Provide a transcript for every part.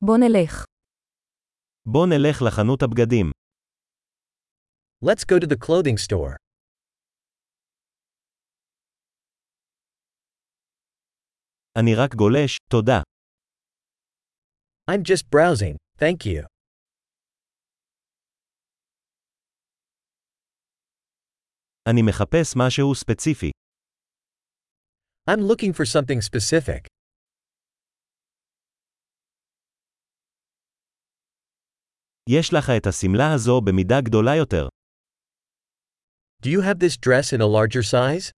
בוא נלך. בוא נלך לחנות הבגדים. Let's go to the clothing store. אני רק גולש, תודה. I'm just browsing, thank you. אני מחפש משהו ספציפי. I'm looking for something specific. יש לך את השמלה הזו במידה גדולה יותר. Do you have this dress in a larger size?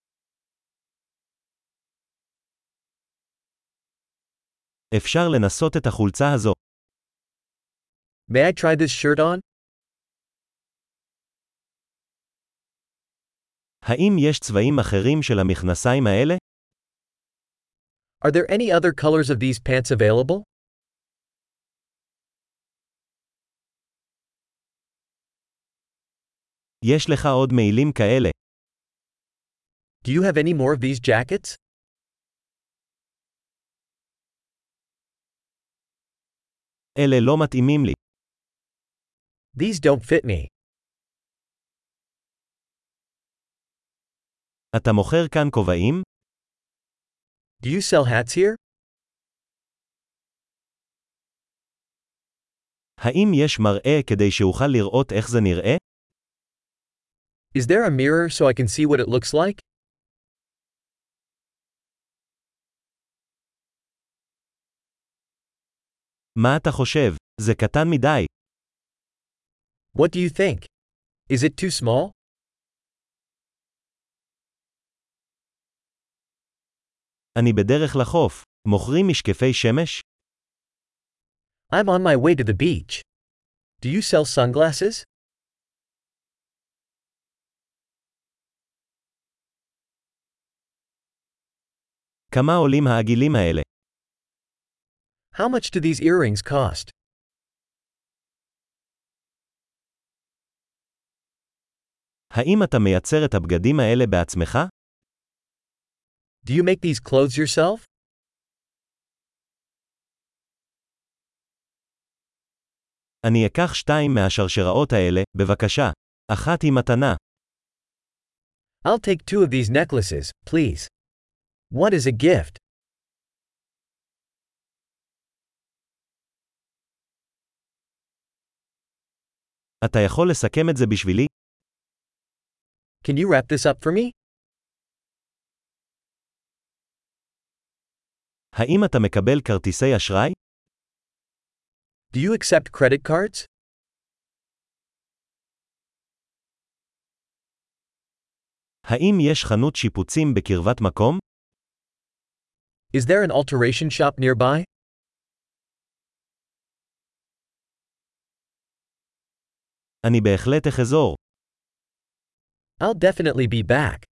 אפשר לנסות את החולצה הזו. May I try this shirt on? האם יש צבעים אחרים של המכנסיים האלה? Are there any other colors of these pants available? יש לך עוד מעילים כאלה. Do you have any more of these jackets? אלה לא מתאימים לי. These don't fit me. אתה מוכר כאן כובעים? Do you sell hats here? האם יש מראה כדי שאוכל לראות איך זה נראה? Is there a mirror so I can see what it looks like? מה אתה חושב? זה קטן מדי. What do you think? Is it too small? אני בדרך לחוף. מוכרים משקפי שמש? I'm on my way to the beach. Do you sell sunglasses? כמה עולים העגילים האלה? How much do these earrings cost? האם אתה מייצר את הבגדים האלה בעצמך? Do you make these clothes yourself? אני אקח 2 מהשרשראות האלה, בבקשה. אחת היא מתנה. I'll take 2 of these necklaces, please. What is a gift? אתה יכול לסכם את זה בשבילי? Can you wrap this up for me? האם אתה מקבל כרטיסי אשראי? Do you accept credit cards? האם יש חנות שיפוצים בקרבת מקום? Is there an alteration shop nearby? אני בהחלט אחזור. I'll definitely be back.